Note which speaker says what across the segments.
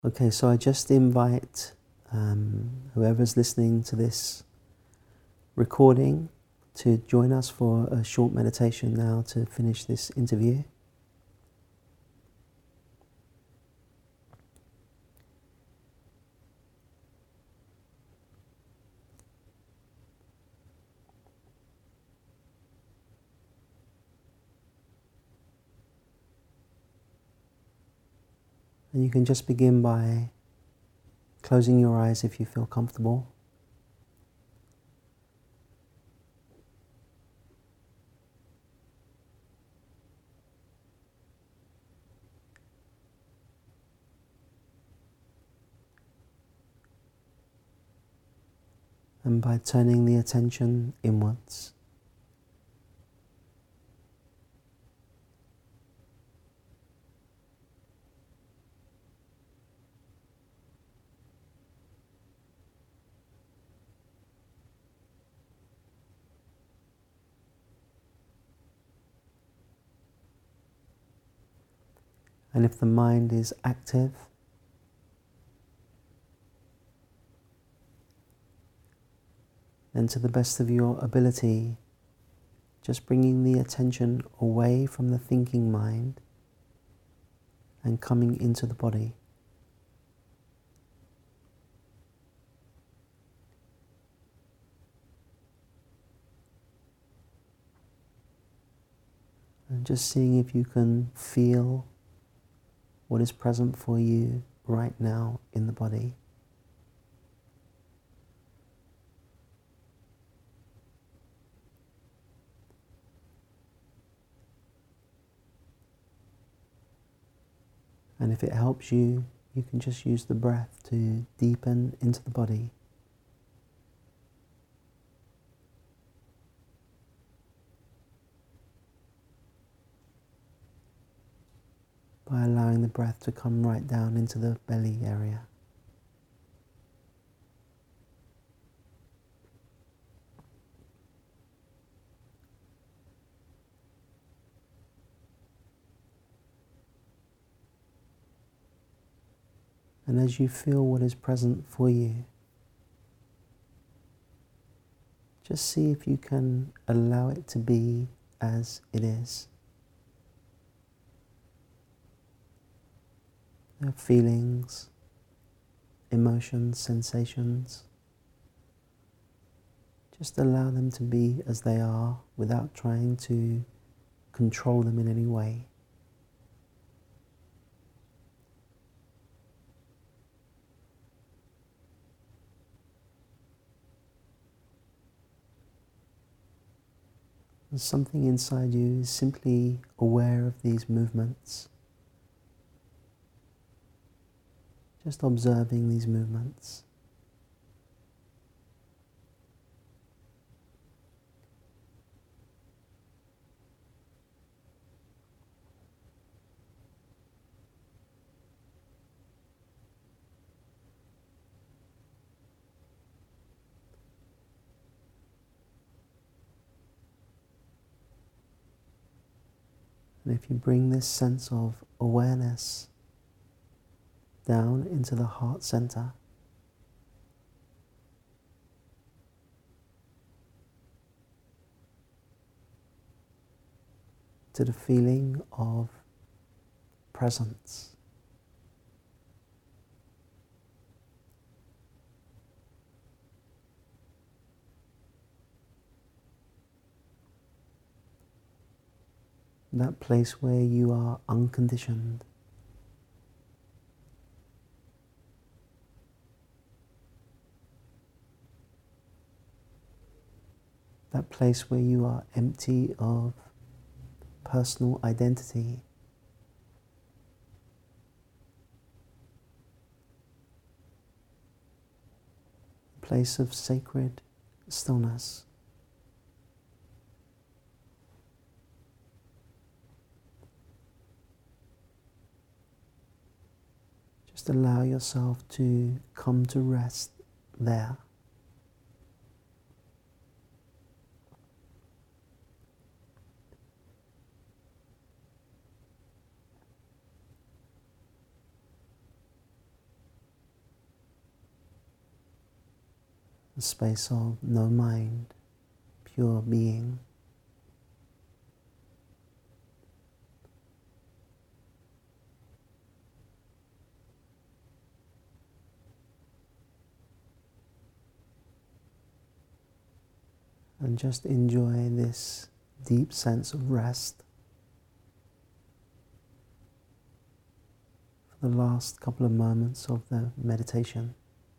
Speaker 1: Okay, so I just invite whoever's listening to this recording to join us for a short meditation now to finish this interview. And you can just begin by closing your eyes if you feel comfortable. And by turning the attention inwards. And if the mind is active, then to the best of your ability, just bringing the attention away from the thinking mind and coming into the body. And just seeing if you can feel what is present for you right now in the body. And if it helps you, you can just use the breath to deepen into the body. By allowing the breath to come right down into the belly area. And as you feel what is present for you, just see if you can allow it to be as it is. Feelings, emotions, sensations. Just allow them to be as they are without trying to control them in any way. And something inside you is simply aware of these movements. Just observing these movements. And if you bring this sense of awareness down into the heart center, to the feeling of presence. That place where you are unconditioned. That place where you are empty of personal identity. A place of sacred stillness. Just allow yourself to come to rest there. a space of no mind, pure being. And just enjoy this deep sense of rest for the last couple of moments of the meditation.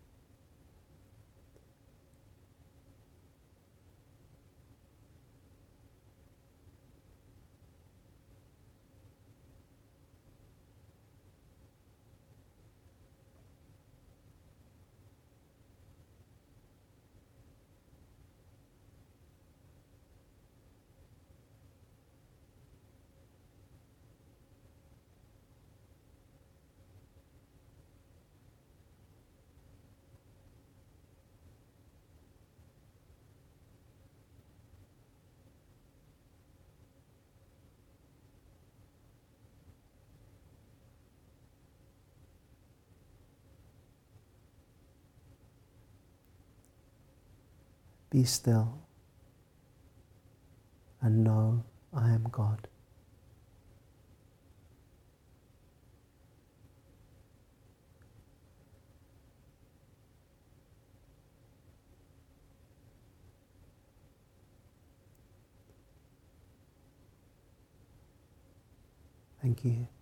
Speaker 1: Be still and know I am God. Thank you.